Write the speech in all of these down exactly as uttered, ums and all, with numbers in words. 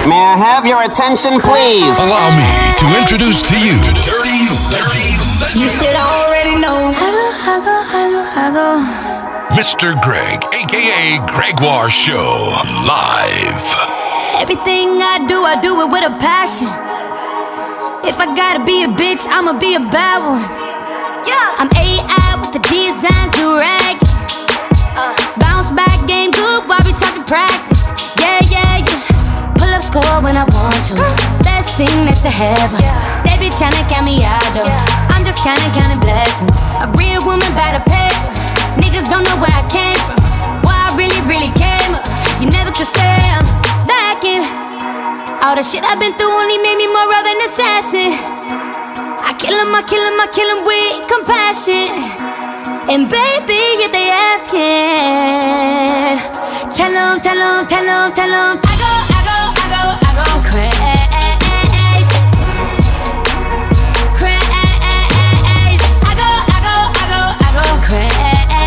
May I have your attention, please? Allow me to introduce to you Dirty, Dirty Legend. You should already know. I go, I go, I go, I go. Mister Greg, a k a. Gregoire Show, live. Everything I do, I do it with a passion. If I gotta be a bitch, I'ma be a bad one. Yeah. I'm A I with the designs, do rag. Uh. Bounce back, game good while we talking practice. Yeah, yeah, yeah. Pull up score when I want to. Best thing that's to heaven. Yeah. They be tryna count me out though. Yeah. I'm just counting, counting blessings. A real woman by the paper. Niggas don't know where I came from. Where I really, really came up. You never could say I'm lacking. All the shit I've been through only made me more of an assassin. I kill him, I kill him, I kill him with compassion. And baby, if they asking, tell them, tell them, tell them, tell them I go, I go, I go, I go crazy. Crazy. I go, I go, I go, I go crazy.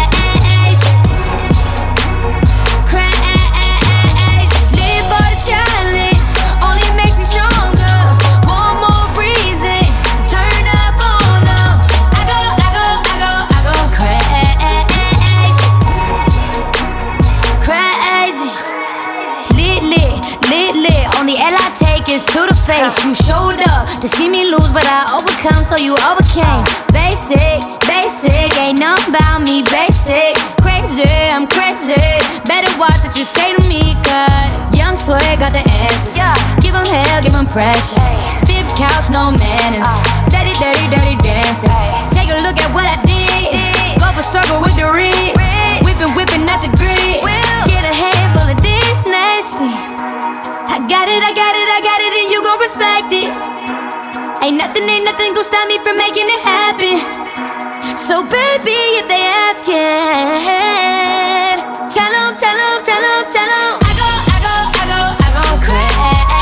To the face, you showed up to see me lose, but I overcome, so you overcame. Basic, basic, ain't nothing about me. Basic, crazy, I'm crazy. Better watch what you say to me, cause young swag got the answers. Give them hell, give them pressure. Big couch, no manners. Dirty, dirty, dirty dancing. Take a look at what I did. Go for circle with the ribs. Whipping, whipping at the grid. Get a handful of this nasty. I got it, I got it, I got it, and you gon' respect it. Ain't nothing, ain't nothing gon' stop me from making it happen. So baby, if they asking, tell them, tell them, tell them, tell them I go, I go, I go, I go crazy.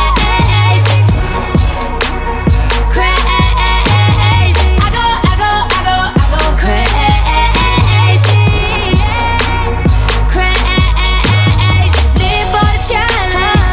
Crazy. I go, I go, I go, I go crazy. Crazy. Live for the challenge.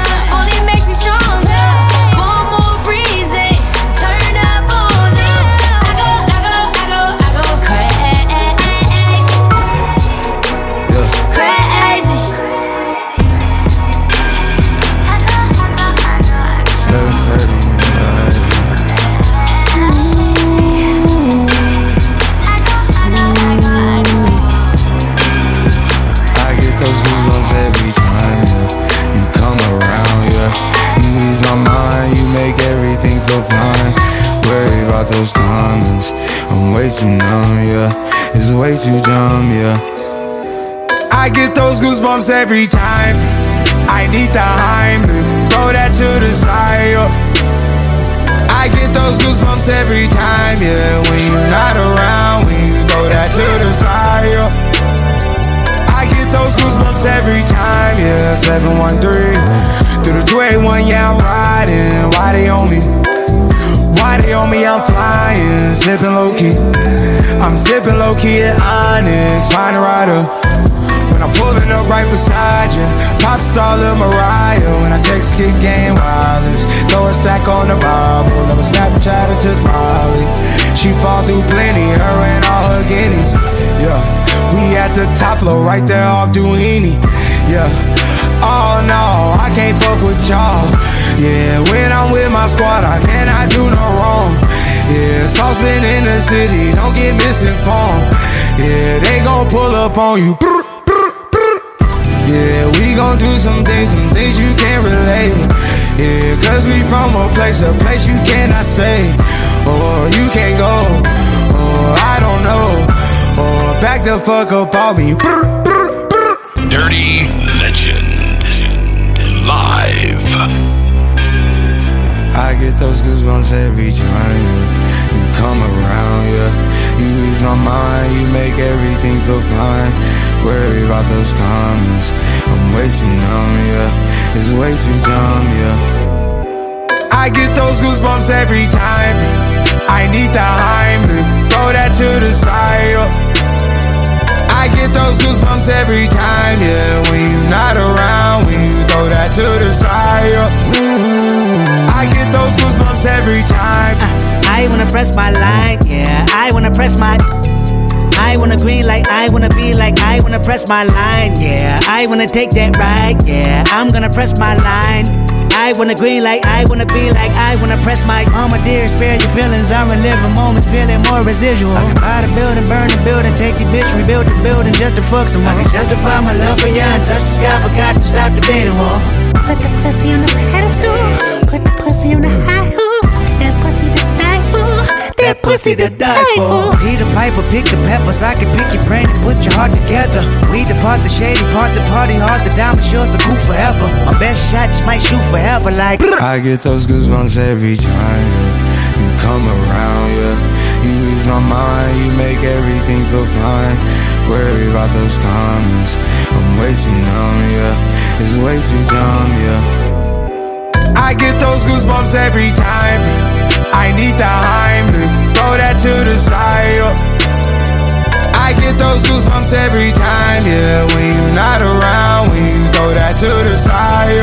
Those comments, I'm way too numb, yeah. It's way too dumb, yeah. I get those goosebumps every time. I need the Heimlich, throw that to the side, yeah. I get those goosebumps every time, yeah. When you're not around, when you throw that to the side, yeah. I get those goosebumps every time, yeah. seven one three through the two eighty-one, yeah, I'm riding. Why they on me? Why they on me? I'm flying, sipping low-key. I'm sipping low-key at Onyx, find a rider. When I'm pulling up right beside you, pop star Lil Mariah. When I text kick game wireless, throw a stack on the Bible. Never Snapchat or took Molly. She fall through plenty, her and all her guineas. Yeah, we at the top floor, right there off Duini. Yeah, oh no, I can't fuck with y'all. Yeah, when I'm with my squad, I cannot do no wrong. Yeah, saucepan in the city, don't get misinformed. Yeah, they gon' pull up on you. Yeah, we gon' do some things, some things you can't relate. Yeah, cause we from a place, a place you cannot stay. Or you can't go, or I don't know. Or back the fuck up on me. Dirty Legend, live. I get those goosebumps every time yeah. You come around, yeah. You ease my mind, you make everything feel fine. Worry about those comments, I'm way too numb, yeah. It's way too dumb, yeah. I get those goosebumps every time. I need the Heimlich, throw that to the side, yeah. I get those goosebumps every time, yeah. When you're not around, when you throw that to the side, yeah. those goosebumps every time. uh, I wanna press my line, yeah. I wanna press my I wanna green like I wanna be like I wanna press my line, yeah. I wanna take that ride, yeah. I'm gonna press my line. I wanna green like I wanna be like I wanna press my mama dear, spare your feelings. I'm reliving moments, feeling more residual. I can buy the building, burn the building, take your bitch, rebuild the building just to fuck some more. I can justify my love for you and touch the sky, forgot to stop the beating wall. Put the pussy on the pedestal, put the pussy on the high hoops. That pussy to die for, that pussy to die for. He the piper, pick the peppers. I can pick your brain and put your heart together. We depart the shady parts and party hard. The diamond sure the cool forever. My best shot just might shoot forever like. I get those goosebumps every time yeah. You come around, yeah. You ease my mind, you make everything feel fine. Worry about those comments, I'm way too numb, yeah. It's way too dumb, yeah. I get those goosebumps every time. I need the Heimlich, throw that to the side, yeah. I get those goosebumps every time, yeah. When you're not around, when you throw that to the side,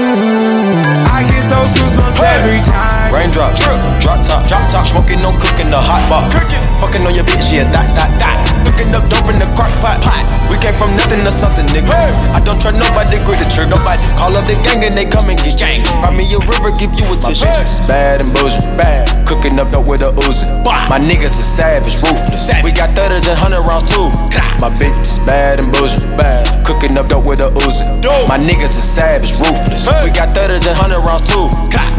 yeah. I get those goosebumps hey. every time. Raindrop, drip, drop top, drop top. Smoking, no cooking, the hot pot. Cooking, fucking on your bitch, yeah, that, that, that. Cooking up dope in the crock pot, pot. We came from nothing to something, nigga. Hey. I don't trust nobody, grip the trigger. Nobody call up the gang and they come and get gang. Buy me a river, give you a tissue. It's bad and bullshit, bad. Cooking up dope with a Uzi. My niggas is savage, ruthless. Savage. We got thirties and hundred rounds too. My bitch is bad and bullshit, bad. Cooking up dope with a Uzi. My niggas is savage, ruthless. Hey. We got thirties and hundred rounds too.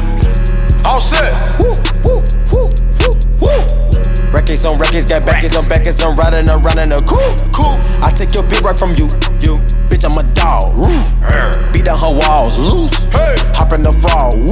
All set. Woo, woo, woo, woo, woo. Records on records, got backers on backers. I'm riding around in a cool, cool. I take your bitch right from you, you. Bitch, I'm a dog, roof. Beat down her walls, loose. Hey. Hop in the fall, woo.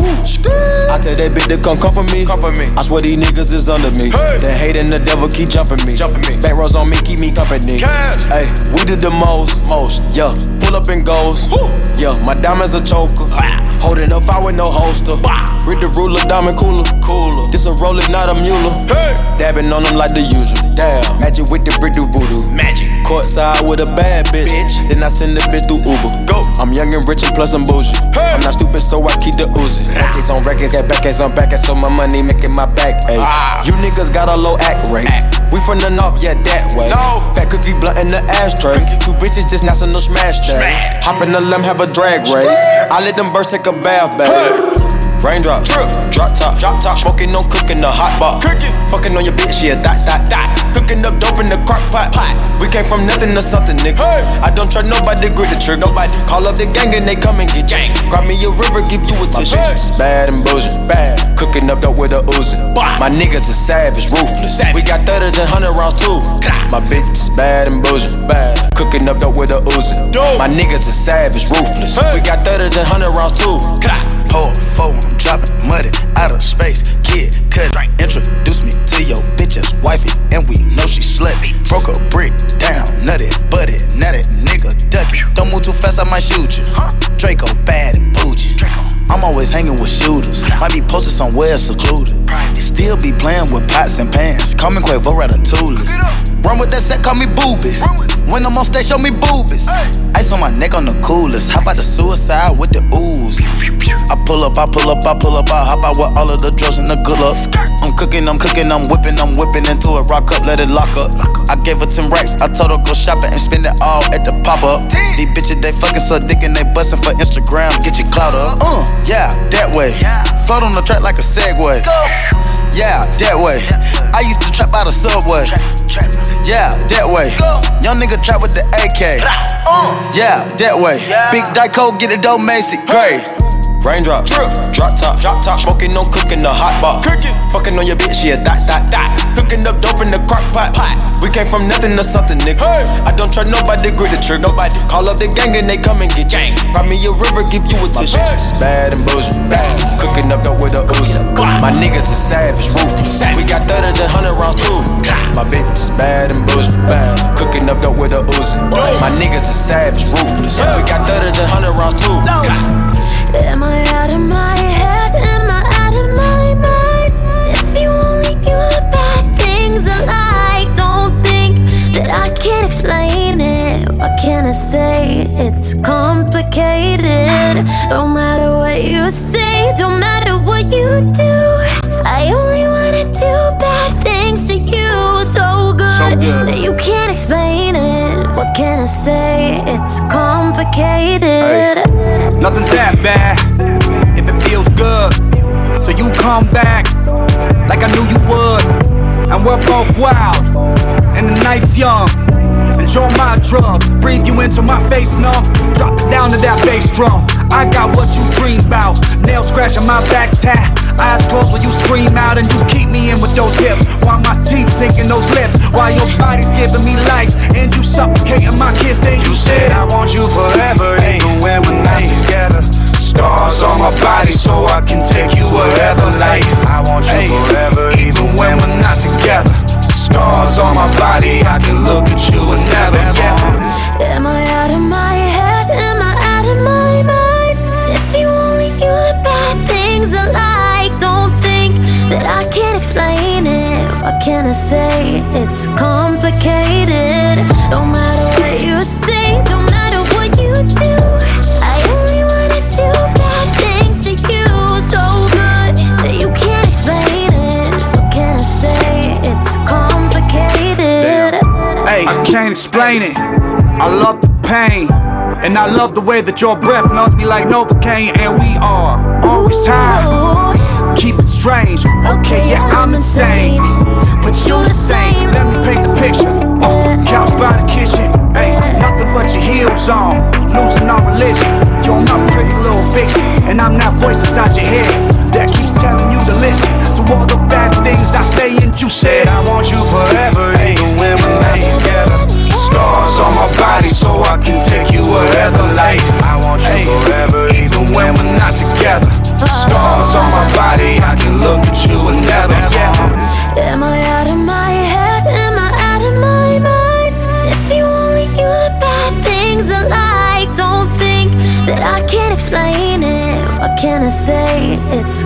I tell that bitch to come come for me, come for me. I swear these niggas is under me. Hey. The hate and the devil keep jumping me, jumping me. Back rows on me, keep me company. Hey, we did the most, most. Yeah, pull up and goes. Woo. Yeah, my diamonds a choker. Ah. Holding up fire with no holster. Bah. Read the ruler, diamond cooler, cooler. This a roller, not a mule. Hey. Dabbing on them like the usual. Damn, magic with the brick do voodoo. Magic. Courtside with a bad bitch. bitch. Then I send the bitch through Uber. Go. I'm young and rich and plus I'm bougie. Hey. I'm not stupid, so I keep the Uzi. Records on records, got backers on backers, so my money making my back ache. Ah. You niggas got a low act rate. Act. We from the north, yeah, that way. No. Fat cookie blunt in the ashtray. Cookie. Two bitches just national smash day. Smash. Hop in the limb, have a drag race. I let them birds take a bath, babe. Hey. Raindrop, drip, drop top, drop top. Smoking, no cooking, the hot pot. Cooking, fucking on your bitch, yeah, that, that, that. Cooking up dope in the crock pot, pot. We came from nothing to something, nigga. Hey. I don't trust nobody, grip the trigger. Nobody call up the gang and they come and get gang. Grab me a river, give you a tissue. It's bad and bullshit, bad. Cooking up dope with a Uzi. My niggas is savage, ruthless. Savage. We got thirties and hundred rounds too. My bitch is bad and bullshit, bad. Cooking up dope with a Uzi. My niggas is savage, ruthless. Hey. We got thirties and hundred rounds too. Pour four, I'm dropping muddy out of space. Kid, cut, introduce me to your bitch's wifey, and we know she slutty. Broke a brick down, nutty, butty, nutty, nigga, ducky. Don't move too fast, I might shoot you. Draco bad and bougie. I'm always hanging with shooters. Might be posted somewhere secluded. Still be playing with pots and pans. Call me Quavo Ratatouille. Run with that set, call me Booby. When I'm on stage, show me boobies. Ice on my neck on the coolest. How about the suicide with the ooze? I pull up, I pull up, I pull up, I hop out with all of the drugs and the good luck. I'm cooking, I'm cooking, I'm whipping, I'm whipping into it. Rock up, let it lock up. I gave her ten racks, I told her go shopping and spend it all at the pop-up. These bitches, they fucking suck dick and they bustin' for Instagram. Get your clout up. Uh, yeah, that way. Float on the track like a Segway. Yeah, that way. I used to trap out of Subway. Yeah, that way. Young nigga trap with the A K. Yeah, that way. Big Dyco, get it dope, Macy. Great. Raindrop, drip, drop top, drop top. Smoking, no cooking, the hot pot. Cooking, fucking on your bitch, yeah, that, that, that. Cooking up dope in the crock pot, pot. We came from nothing to something, nigga. Hey. I don't trust nobody, grip the trigger. Nobody call up the gang and they come and get gang. Buy me a river, give you a tissue. It's bad and bullshit, bad. Cooking up dope with a Uzi. My niggas is savage, ruthless. We got thirties and hundred rounds too. My bitch is bad and bullshit, bad. Cooking up dope with a Uzi. My niggas is savage, ruthless. We got thirties and hundred rounds too. Am I out of my head? Am I out of my mind? If you only knew the bad things I like, don't think that I can explain it. What can I say? It's complicated. Don't matter what you say, don't matter what you do. good that you can't explain it. What can I say? It's complicated. Hey, nothing's that bad if it feels good. So you come back like I knew you would. And we're both wild, and the night's young. Enjoy my drug, breathe you into my face numb. Drop it down to that bass drum. I got what you dream about. Nail scratching my back tat. Eyes closed when you scream out, and you keep me in with those hips. While my teeth sinking those lips. While your body's giving me life, and you suffocating my kiss. Then you said I want you forever, even when we're not together. Scars on my body so I can take you wherever. Like I want you ay, forever, even when we're not together. Scars on my body, I can look at you and never, yeah. Am I out of my head? Am I out of my mind? If you only knew the bad things I like. Don't think that I can't explain it. What can I say? It's complicated. Don't matter what you say, don't matter what you do. I only wanna do bad things to you. So good that you can't explain it. What can I say? It's complicated. Hey, I can't explain it. I love the pain, and I love the way that your breath melts me like Novocaine. And we are always high. Keep it strange. Okay, yeah, I'm insane, but you the same. Let me paint the picture. Oh, couch by the kitchen. Hey, nothing but your heels on. Losing our religion. You're my pretty little vixen, and I'm that voice inside your head that keeps telling you to listen to all the bad things I say. And you said I want you forever, even when we're not together. Scars on my body so I can take you wherever. Like I want you forever, even when we're not together. Scars on my body, I can look at you and never, yeah. Am I out of my head? Am I out of my mind? If you only knew the bad things I like. Don't think that I can't explain it. What can I say? It's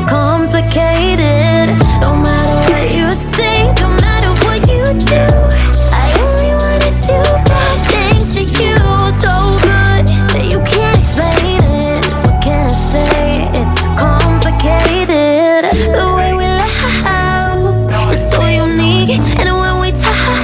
complicated. Don't matter what you say, don't matter what you do. I only wanna do bad things to you. So good that you can't explain it. What can I say? It's complicated. The way we laugh is so unique, and when we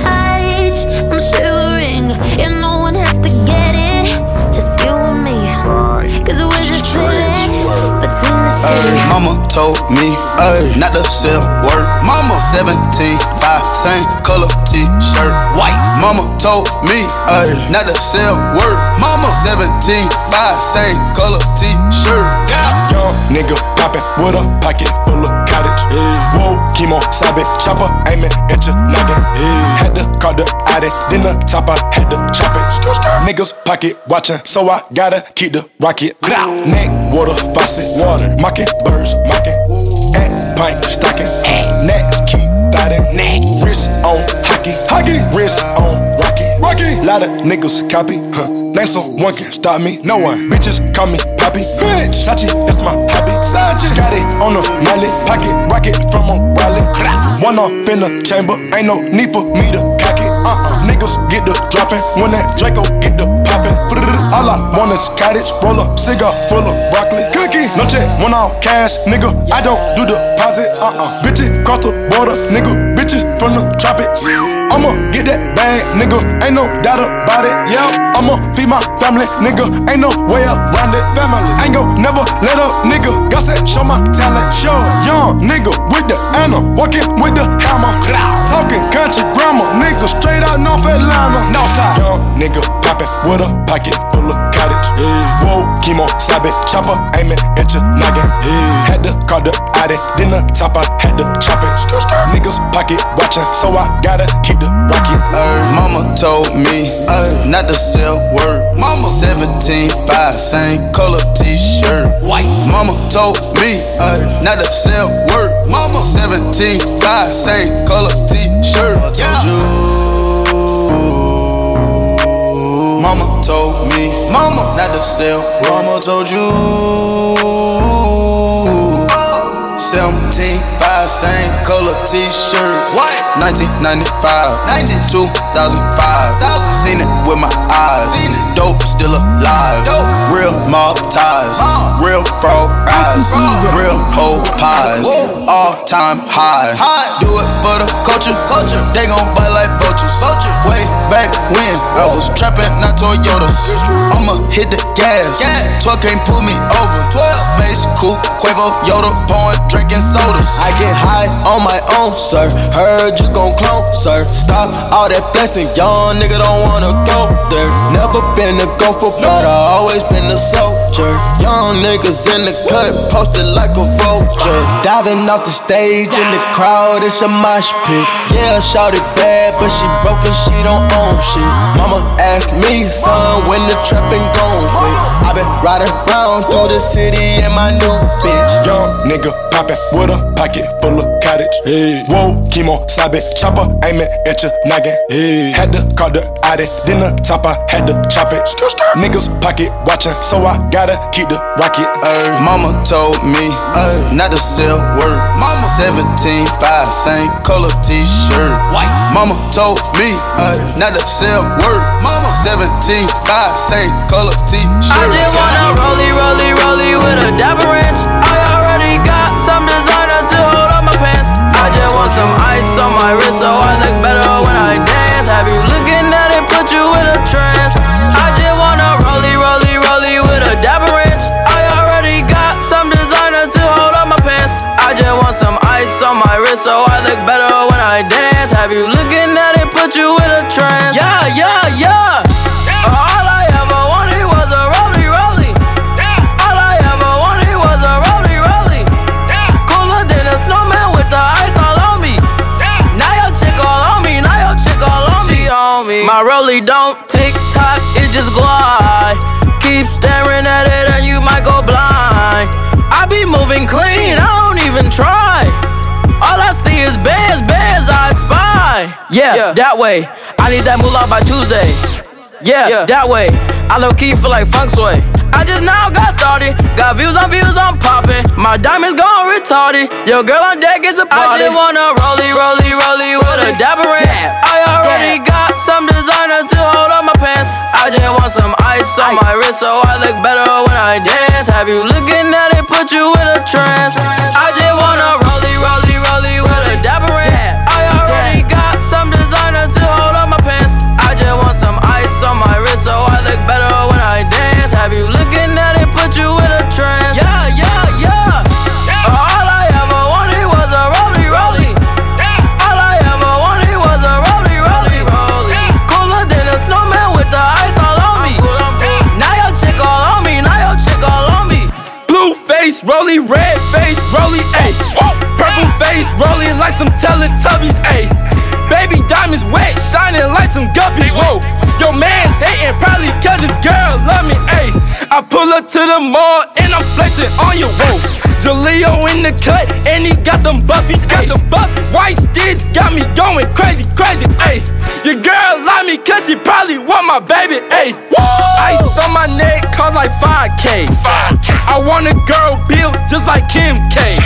touch, I'm shivering. And no one has to get it, just you and me. Cause we're just sitting between the sheets. Mama told me ay, not to sell word. Mama seventeen, five, same color t-shirt, white. Mama told me ay, not to sell word. Mama seventeen, five, same color t-shirt. Yeah. Young nigga poppin' with a pocket full of cottage. Yeah. Whoa, chemo, sabe, chopper, aiming at your noggin. Yeah. Had to call the addy, then the top I had to chop it. Skr, skr. Niggas pocket watchin', so I gotta keep the rocket. Neck, water, faucet, water, mocking, birds, mocking. At pint, stocking, next, keep biting. Wrist on hockey, hockey, wrist on rocky, rocky. Lot of niggas copy, huh? Name someone can stop me, no one. Bitches call me Poppy, bitch. Sachi, that's my hobby. Sachi got it on the mallet, pocket rocket from a wallet. One off in the chamber, ain't no need for me to cock it. Uh-uh, niggas get the dropping when that Draco get the popping. All I want is cottage, roll up, cigar full of broccoli. Cookie, no check, one off cash, nigga. I don't do deposits. Uh-uh, bitches cross the border, nigga. Bitches from the tropics. I'ma get that bag, nigga. Ain't no doubt about it. Yeah, I'ma feed my family, nigga. Ain't no way around it. Family, ain't gon' never let up, nigga. Got that, show my talent. Show young nigga with the Anna, walking with the hammer. Talking country grammar, nigga. Straight out North Atlanta. Northside, young nigga poppin' with a pocket full of cottage. Yeah. Whoa, chemo, sabe, chopper, aiming at your noggin. Yeah. Had to call the addy, then the top I had to chop it. Skr, skr. Niggas pocket watchin', so I gotta keep the rocket. Ay, mama told me ay, not to sell word. Mama seventeen, five, same color t-shirt, white. Mama told me ay, not to sell word. Mama seventeen, five, same color t-shirt. Yeah. Mama told me, mama, not to sell. Mama told you, seventeen, five, same color t-shirt. What? nineteen ninety-five, two thousand five. Seen it with my eyes. Dope still alive. Real mob ties. Real frog eyes. Real whole pies. All time high. Do it for the culture. They gon' bite like vultures. Way back when I was trapping, not Toyotas. I'ma hit the gas. twelve can't pull me over. Space coupe, Quavo, Yoda, pouring, drinking sodas. I get high on my own, sir. Heard you gon' clone, sir. Stop all that flexing, young nigga don't wanna go there. Never been a gopher, but I always been a soldier. Young niggas in the cut, posted like a vulture. Diving off the stage in the crowd, it's a mosh pit. Yeah, shawty bad, but she broke and she don't own shit. Mama asked me, son, when the trapping gon' quit. I been riding around through the city in my new bitch. Young nigga poppin' with a pocket full of cottage. Hey. Whoa, chemo, sabe, chopper aimin' at your noggin. Hey. Had to call the Audi, then the top I had to chop it. Niggas pocket watchin', so I gotta keep the rocket. Ay. Mama told me ay, not to sell word. Mama seventeen five, same color t-shirt. White. Mama told me ay, not to sell word. Mama seventeen five, same color t-shirt. I just wanna rollie, rollie, rollie with a dapper ranch. I already got some designer to hold up my pants. I just want some ice on my wrist so I look better when I dance. Have you looking at it, put you in a trance. I just wanna rollie, rollie, rollie with a dapper ranch. I already got some designer to hold up my pants. I just want some ice on my wrist so I look better when I dance. Have you looking at it, put you in a trance. Yeah, yeah, yeah. All I ever wanted was a rollie, rollie. All I ever wanted was a rollie, rollie. Cooler than a snowman with the ice all on me. Now your chick all on me, now your chick all on me, on me. My rollie don't tick tock, it just glide. Keep staring at it and you might go blind. I be moving clean, I don't even try. All I see is bears, bears I spy. Yeah, yeah, that way. I need that moolah by Tuesday. Yeah, yeah, that way. I low key feel like funk sway. I just now got started. Got views on views, I'm popping. My diamonds gone retarded. Yo, girl on deck is a party. I just wanna rollie, rollie, rollie with a dapper ranch. I already got some designer to hold up my pants. I just want some ice on my wrist so I look better when I dance. Have you looking at it, put you in a trance. I just wanna rollie, rollie, rollie with a dapper ranch. I already got some designer to hold up my pants. I just want some ice on my wrist so I look better when I dance. Have you looking at it, put you in a trance. Yeah, yeah, yeah. All I ever wanted was a rollie, rollie. All I ever wanted was a rollie, rollie, rollie. Cooler than a snowman with the ice all on me. Now your chick all on me, now your chick all on me. Blue face, rollie, red face, rollie, ayy. Purple face, rollie like some Teletubbies, ayy. Baby diamonds wet, shining like some guppies, whoa. Your man's hating probably cause his girl love me, ayy. I pull up to the mall and I'm flexing on you, whoa. Jaleo in the cut and he got them buffies, ayy. White sticks got me going crazy, crazy, ayy. Your girl love me cause she probably want my baby, ayy. Ice on my neck cost like five K. I want a girl built just like Kim K.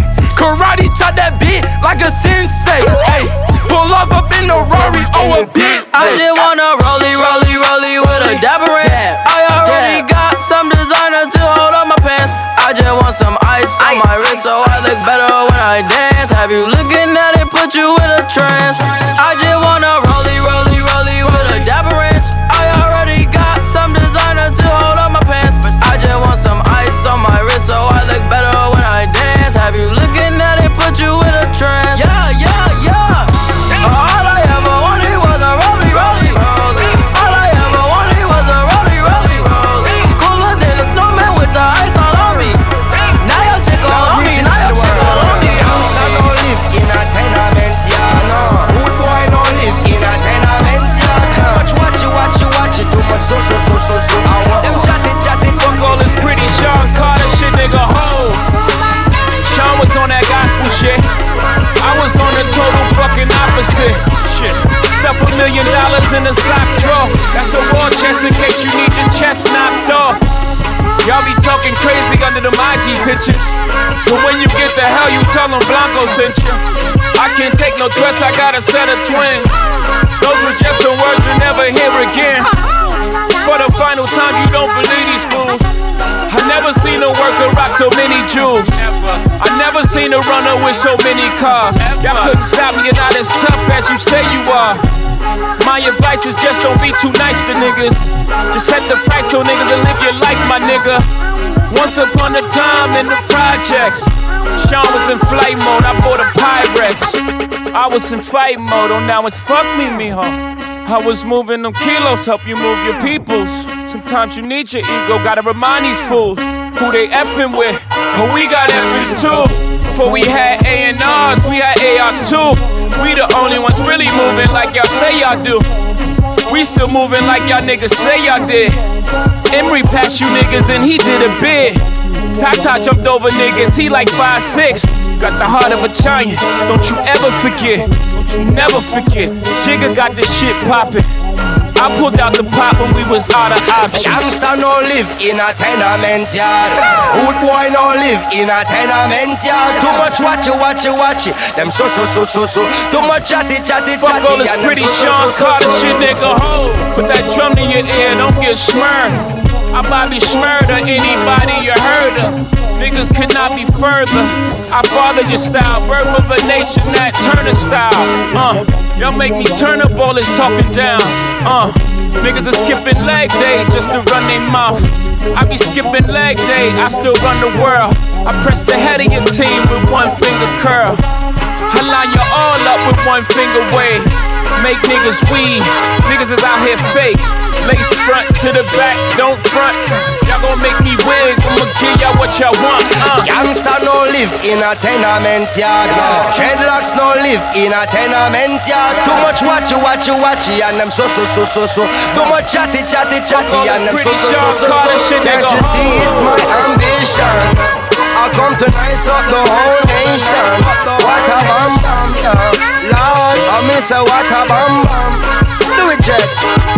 Karate chop that beat like a sensei, ayy. Pull off up in a Rari or a bit. I just wanna rollie, rollie, rollie with a dapper ranch. I already got some designer to hold up my pants. I just want some ice on my wrist so I look better when I dance. Have you looking at it, put you in a trance. I just wanna rollie, rollie, rollie with a dapper ranch. I already got some designer to hold up my pants. I just want some ice on my wrist so I look better when I dance. Have you looking at it, put you in a trance. Yeah, yeah, yeah. All I ever wanted was a rollie, rollie, rollie. All I ever wanted was a rollie, rollie, rollie. Cooler than a snowman with the ice all on me. Now your chick all on me, now your chick all on me. Youngster don't live in a tenement, yeah, no. Good boy don't live in a tenement. talking crazy under them I G pictures. So when you get the hell, you tell them Blanco sent you. I can't take no threats, I got a set of twins. Those were just some words you'll never hear again. For the final time, you don't believe these fools. I never seen a worker rock so many jewels. I never seen a runner with so many cars. Y'all couldn't stop me, you're not as tough as you say you are. My advice is just don't be too nice to niggas. Just set the price so niggas and live your life, my nigga. Once upon a time in the projects, Sean was in flight mode, I bought a Pyrex. I was in fight mode, oh now it's fuck me, mijo. I was moving them kilos, help you move your peoples. Sometimes you need your ego, gotta remind these fools who they effing with. But we got effers too. Before we had A and R's, we had A Rs too. We the only ones really moving like y'all say y'all do. We still moving like y'all niggas say y'all did. Emery passed you niggas and he did a bid. Tata jumped over niggas, he like five six. Got the heart of a giant, don't you ever forget. Don't you never forget. Jigga got this shit poppin'. I pulled out the pop when we was out of options. Youngster no live in a tenement yard. Good boy no live in a tenement yard. Too much watch it, watch it, watch it. Them so so so so so. Too much chatty chatty chatty. Fuck all this pretty Sean Carter shit, nigga. Hold. Put that drum in your ear, don't get smurred. I Bobby Schmurder, anybody you heard of. Niggas could not be further. I father your style, birth of a nation, that Turner style. Uh, y'all make me turn up all this talking down. Uh, niggas are skipping leg day just to run their mouth. I be skipping leg day, I still run the world. I press the head of your team with one finger curl. I line you all up with one finger wave. Make niggas weave, niggas is out here fake. Lace front to the back, don't front. Y'all gon' make me wig, I'ma give y'all what y'all want. uh. Youngster no live in a tenement yard. Dreadlocks no live in a tenement yard. Too much watchy, watchy, watchy, and them so so so so so. Too much chatty, chatty, chatty, and them so so so so so. Can't you see it's my ambition? I come to nice up the whole nation. What a bam bam, yeah. Lord, I miss a what a bam bam. Do it, Jet.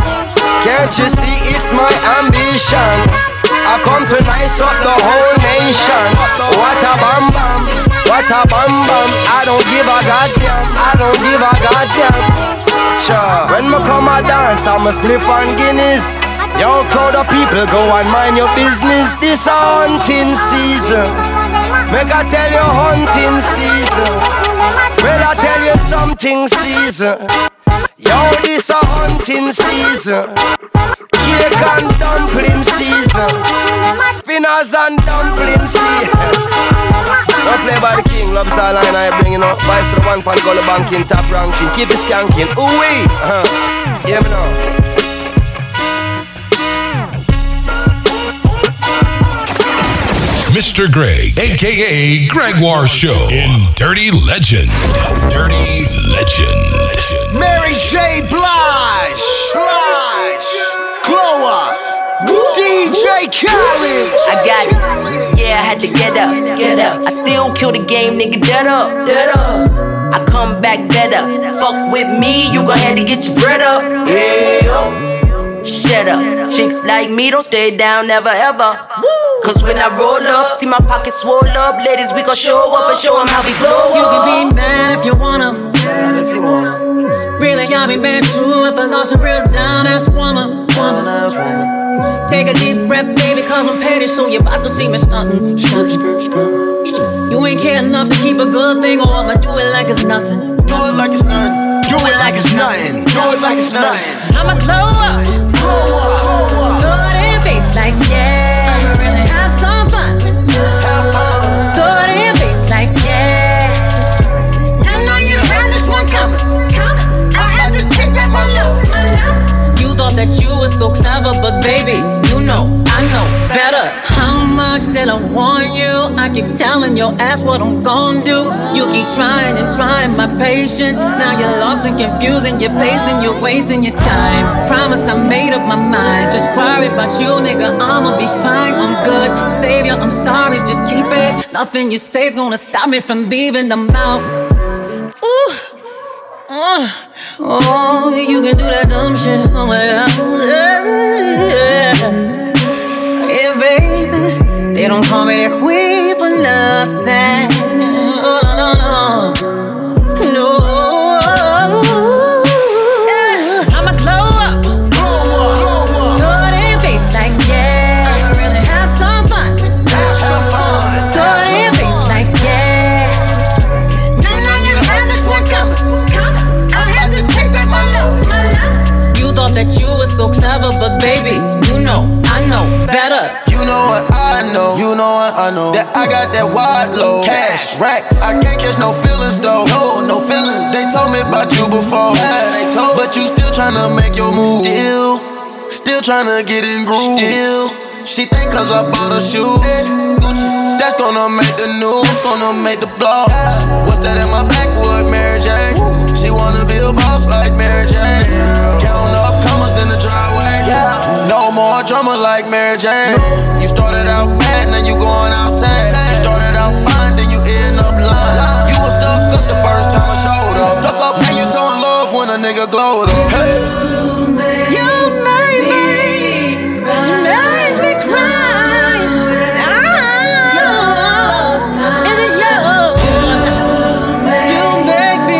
Can't you see it's my ambition? I come to nice up the whole nation. What a bam bam, what a bam bam. I don't give a goddamn, I don't give a goddamn. Cha. When me come a dance, I'm a spliff on Guinness. Yo, crowd of people, go and mind your business. This a hunting season. Make I tell you hunting season. Well, I tell you something season. Yo, this a hunting season. Cake and dumpling season. Spinners and dumpling season. Don't play by the king, loves all line I bring, you know. Vice to the one pan, go to banking, top ranking. Keep it skanking, ooh-wee. Uh-huh. Hear me now. Mister Greg, a k a. Gregoire Show in Dirty Legend. Dirty Legend. Mary J. Blige. Blige. Glow Up. D J Khaled. I got it. Yeah, I had to get up. Get up. I still kill the game, nigga. Dead up. Dead up. I come back better. Fuck with me, you gon' have to get your bread up. Yeah. Shut up. Chicks like me don't stay down, never ever. Cause when I roll up, see my pockets swole up. Ladies, we gon' show up and show them how we blow up. You can be mad if you wanna. Mad if you wanna. Really, I'll be mad too if I lost a real down-ass woman. woman. Take a deep breath, baby, cause I'm petty, so you about to see me stuntin'. You ain't care enough to keep a good thing, or I'ma do it like it's nothing. Do it like it's nothing. Do it like it's nothing. Do it like it's nothing. I'ma glow up. Glow up. Throw it in face like yeah. I'ma really have some fun. Have fun. Throw it in face like yeah. I know you heard this one coming. I had to take back my love. You thought that you were so clever, but baby, you know, I know better. How much did I warn you? I keep telling your ass what I'm gon' do. You keep trying and trying my patience. Now you're lost and confused and you're pacing, you're wasting your time. Promise I made up my mind. Just worry about you, nigga, I'ma be fine. I'm good, savior, I'm sorry, just keep it. Nothing you say's gonna stop me from leaving them out. Ooh, uh, oh, you can do that dumb shit somewhere else. Yeah, yeah, yeah, baby. They don't call me that queen for nothing. Oh, no, no, no. No. Yeah. I'ma glow up. Throw it in face like yeah. Have some fun. Have some fun. Throw it in face like yeah. No, no, you had this one coming. I had to take back my love. You thought that you were so clever, but baby, you know, I know better. You know what I know, you know what I know. That I got that wide load, cash, racks. I can't catch no feelings though, no, no feelings. They told me about you before, yeah, they told. But you still tryna make your move, still, still tryna get in groove. Still, she think cause I bought her shoes, Gucci. That's gonna make the news, that's gonna make the blog. What's that in my backwood, Mary Jane? She wanna be a boss like Mary Jane. Counting up commas in the driveway. No more drama like Mary Jane. You started out bad, now you going outside. You started out fine, then you end up lying. You was stuck up the first time I showed up. Stuck up, now you showing love when a nigga glowed up. Hey. You made me, you made me cry. Is it you? You make me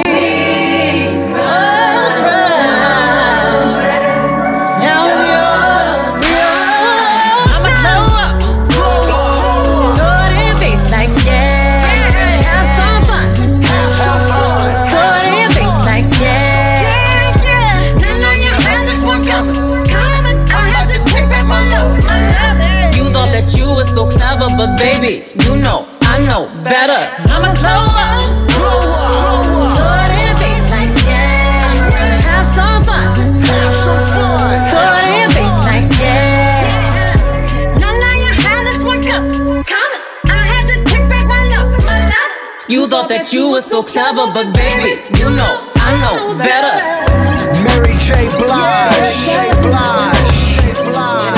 so clever, but baby, you know, I know better. I'ma glow up, glow up, throw it in face like yeah. Have some fun, have some fun. Throw it in face like yeah. No, no, you had this one coming, coming. I had to take back my love, my love. You thought that you were so clever, but baby, you know, I know better. Mary J. Blige, J. Blige, J. Blige.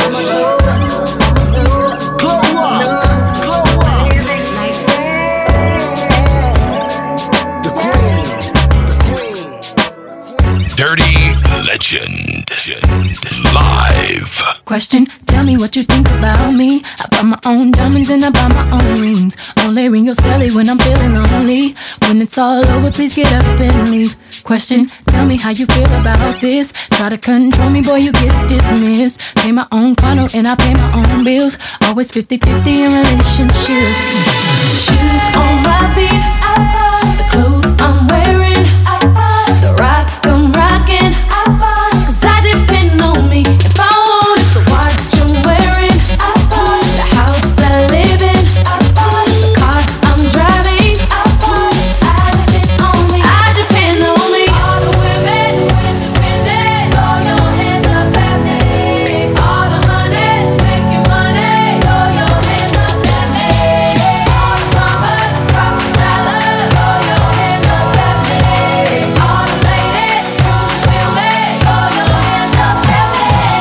Dirty Legend live. Question, tell me what you think about me. I buy my own diamonds and I buy my own rings. Only ring your celly when I'm feeling lonely. When it's all over, please get up and leave. Question, tell me how you feel about this. Try to control me, boy, you get dismissed. Pay my own condo and I pay my own bills. Always fifty-fifty in relationships. Shoes on my feet, I buy the clothes I'm wearing. I buy the rock I'm rocking. I buy, cause I depend on me. If I want it, the watch I'm wearing. I buy the house I live in. I buy the car I'm driving. I buy, I depend on me. I depend on me. All the women, independent, throw your hands up at me. All the honeys making money, throw your hands up at me. All the mamas dropping dollars, throw your hands up at me. All the ladies feel me, throw your hands up at me.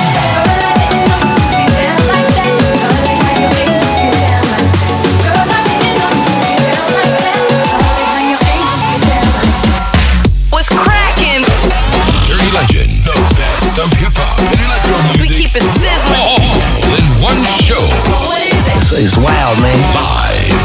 What's cracking? Dirty Legend, the best of hip hop and electro music. We keep it sizzling. All in one show. It's, it's wild, man. Live.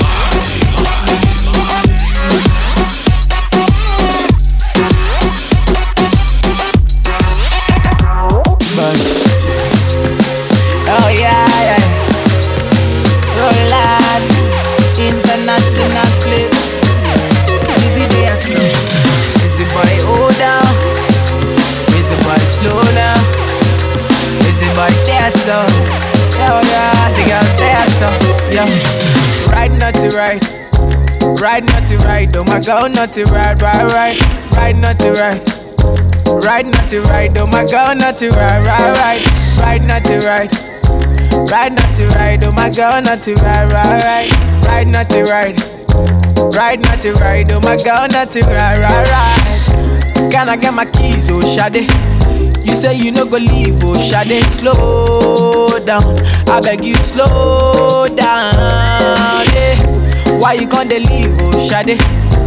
Oh yeah, yeah. Roll on, international flips. Easy dance, easy boy, hold down. Easy boy, slow down. Easy boy, dance up. Yeah, yeah, the girls dance up. Yeah, ride not to ride, ride not to ride. Oh my God, not to ride, ride, ride, ride not to ride. Ride not to ride, oh my God, not to ride, ride, ride, ride not to ride. Ride not to ride, oh my God, not to ride, ride, ride, ride not to ride. Ride not to ride, oh my God, not to ride, ride, ride. Can I get my keys, oh Shade? You say you no go leave, oh Shade. Slow down, I beg you, slow down, yeah. Why you can't leave, oh Shade?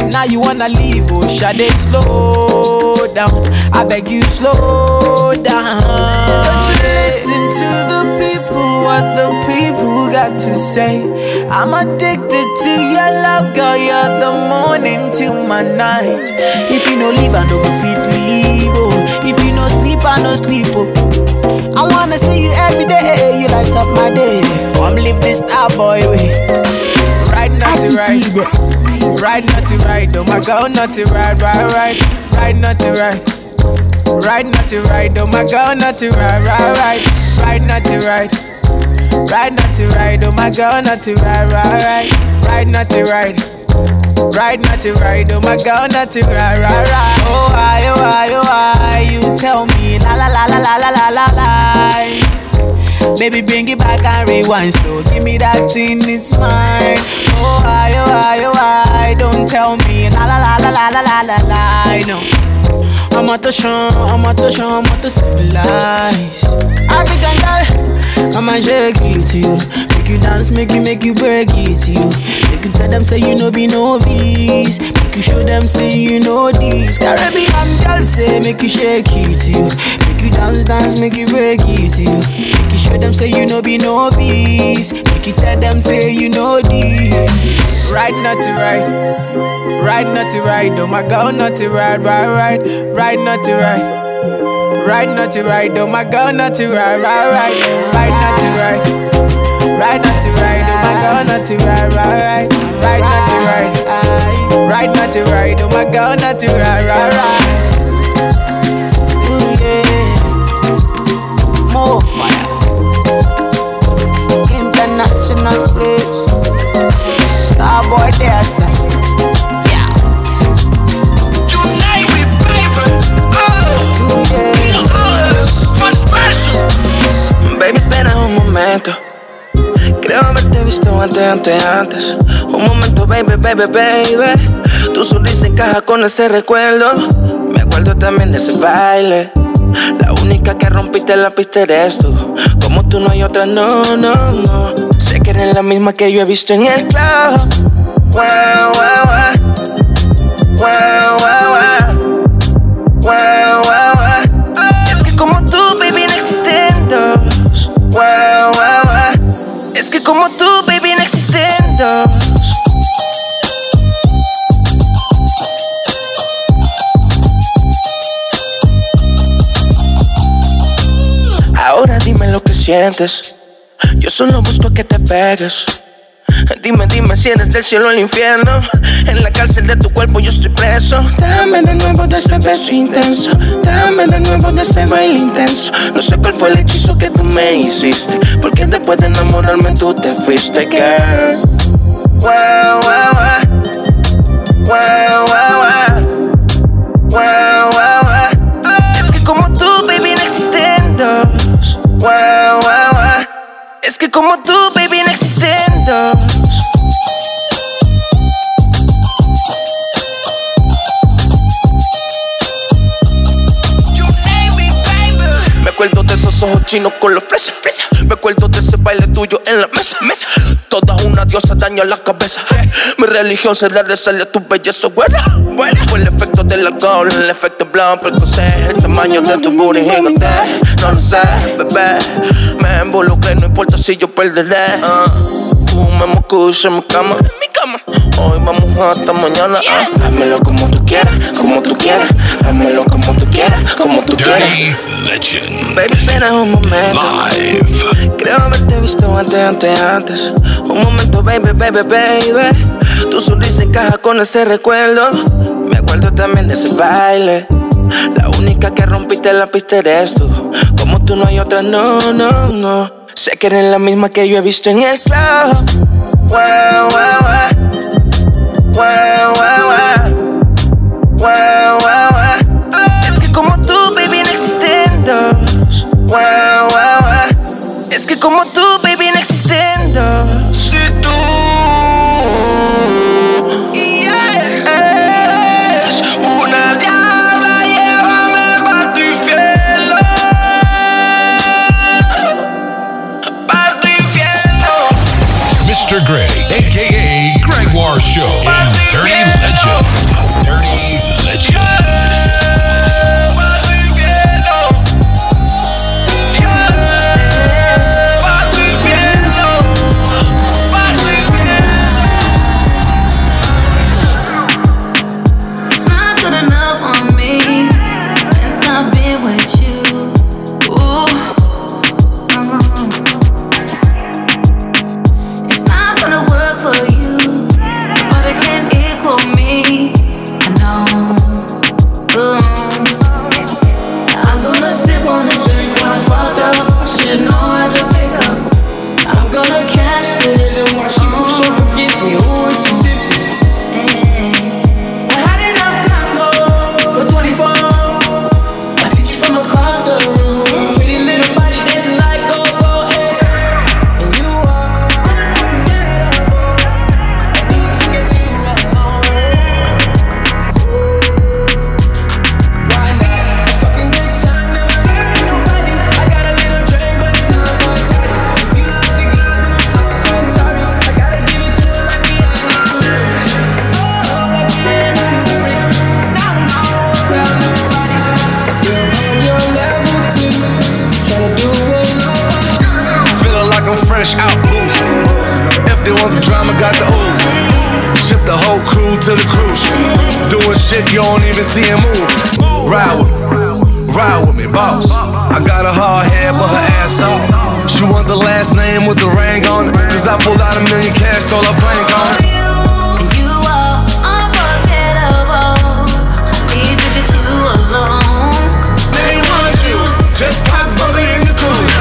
Now you wanna leave, oh Sade, slow down. I beg you, slow down. Don't you listen to the people, what the people got to say. I'm addicted to your love, girl. You're the morning till my night. If you no leave, I no go fit leave. Oh, if you no sleep, I no sleep. Oh, I wanna see you every day. You light up my day. Come live this star boy way. Ride not to ride, ride not to ride. Oh my girl, not to ride, ride, ride, ride not to ride, ride not to ride. Oh my girl, not to ride, ride, ride, ride not to ride, ride not to ride. Oh my girl, not to ride, ride, ride, ride not to ride, ride not to ride. Oh my girl, not to ride, ride, ride. Oh why, oh why, oh why? You tell me, la la la la la la la la la. Baby, bring it back and rewind slow. Give me that thing, it's mine. Oh why, oh why, oh why? Don't tell me, la la la la la la la la la. No, I'm out to show, I'm out to show, I'm out to civilize. African girl, I'ma shake it to you. Make you dance, make you, make you break it to you. Make you tell them say you know be novice. Make you show them say you know this. Caribbean girl say make you shake it to you. Make you dance, dance, make you break it to you. Make you show them say you know be novice. Make you tell them say you know this. Ride not to ride, ride not to ride. Oh my girl, not to ride, ride, ride, ride not to ride. Ride not to ride, oh my girl, not to ride, ride, ride, ride not to ride. Ride not to ride, oh my girl, not to ride, ride, ride, ride not to ride. Ride not to ride, oh my girl, not to ride, ride, ride. Ooh yeah, more fire. International flex, Starboy dancer. Yeah. Tonight we baby. Oh, yeah. Fun special. Baby, espera un momento. Creo haberte visto antes, antes, antes. Un momento, baby, baby, baby. Tu sonrisa encaja con ese recuerdo. Me acuerdo también de ese baile. La única que rompiste la pista eres tú. Como tú no hay otra, no, no, no. Sé que eres la misma que yo he visto en el club. Wow, wow, wow. Wow, wow, wow. Wow, wow, wow. Es que como tú, baby, no existen dos. Wow, wow, wow. Es que como tú, baby, no existen dos. Ahora dime lo que sientes. Yo solo busco que te pegues. Dime, dime si eres del cielo al infierno. En la cárcel de tu cuerpo yo estoy preso. Dame de nuevo de ese beso intenso. Dame de nuevo de ese baile intenso. No sé cuál fue el hechizo que tú me hiciste, porque después de enamorarme tú te fuiste, girl. Wow, wow, wow. Wow, wow, wow. Wow, wow, wow. Es que como tú, baby, no existen dos. Wow, wow, wow. Es que como tú, baby, no existen dos. Me acuerdo de esos ojos chinos con los fresas. Me acuerdo de ese baile tuyo en la mesa. mesa. Toda una diosa daña la cabeza. Mi religión será rezarle a tu belleza, güera. Fue el efecto del alcohol, el efecto blanco, el coser, el tamaño de tu booty gigante. No lo sé, bebé. Me involucré, no importa si yo perderé. Uh, tú me moscus en mi cama. En mi cama. Hoy vamos hasta mañana. Uh. Hámelo como tú quieras, como tú quieras. Hámelo como tú quieras, como tú quieras. Dirty Legend. Baby, espera un momento. Live. Creo haberte visto antes, antes, antes. Un momento, baby, baby, baby. Tu sonrisa encaja con ese recuerdo. Me acuerdo también de ese baile. La única que rompiste la pista eres tú. Como tú no hay otra, no, no, no. Sé que eres la misma que yo he visto en el club. Wow, wow, wow. Wow, wow, wow. Wow, wow, wow. Es que como tú, baby, no existen dos. Wow, wow, wow. Es que como tú, baby, no existen dos. Si tú eres una diabla, llévame pa' tu infierno. Pa' tu infierno. mister Greg, a k a. Gregoire Show in Dirty Legend. crew to the cruise ship. Doing shit you don't even see him move. Ride with me, ride with me, boss. I got a hard head, but her ass off. She want the last name with the ring on it. Cause I pulled out a million cash, told her blank on it. You are unforgettable. I need to get you alone. They want you, just pop bubbly in the cooler.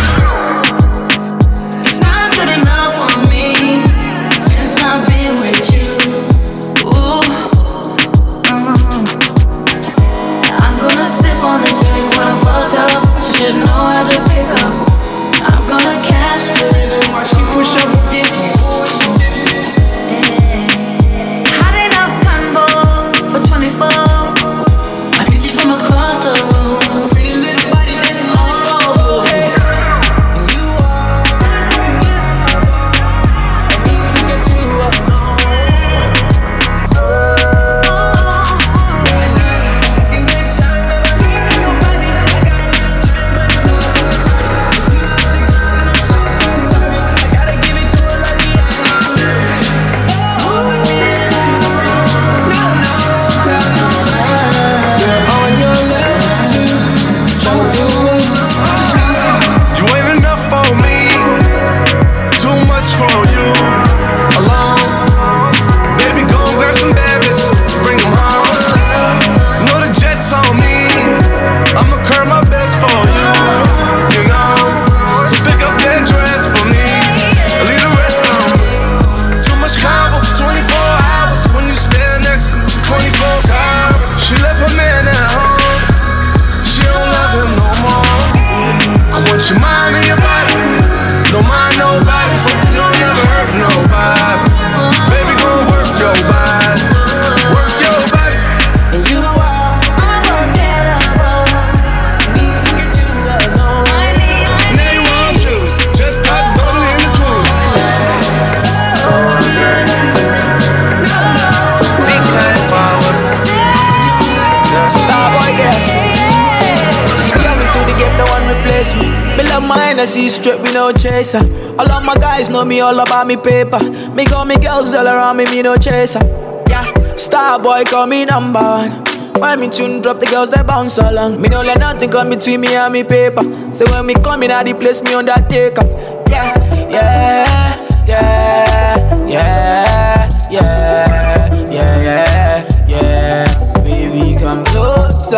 It's not good enough for me since I've been with you. Ooh, mm. I'm gonna sip on this drink when I'm fucked up. Should know how to pick up. I'm gonna cash it. While she push up against me. Hot enough combo for twenty-four. I picked you from across the room. Pretty little body dancing all over. And you are I need to get you alone. Fucking good time, never need nobody. I got a little drink, but it's not enough. If you love the girl, then I'm so, so sorry. I gotta give it to her like the others. Oh, yeah. No, no, tell no lie. You're on your level too. Tryna do it. You ain't enough for me, too much for you. Alone, baby, go and grab some babies, bring them home. Know the jet's on me, I'ma curb my best for you. You know, so pick up that dress for me, and leave the rest on me. Too much combo, twenty-four hours when you stand next to me, twenty-four hours. She left her man at home, she don't love him no more. I want your mind and your body, don't mind nobody, so you don't never hurt nobody. Baby, go work your body, work your body. And you are unforgettable. I need to get you alone. I need, I Now you want shoes, just pop bubbly in the cruise. Big time forward. Starboy, yes. Get me to the game, no one replace me. Me love my Hennessy straight, we no chaser. All of my guys know me all about me paper. Me got me girls all around me, me no chaser. Yeah, Starboy call me number one. When me tune drop, the girls they bounce along. Me no let nothing come between me and me paper. So when me come in at the place, me undertaker. Yeah, yeah, yeah, yeah, yeah, yeah, yeah, yeah. Baby, come closer.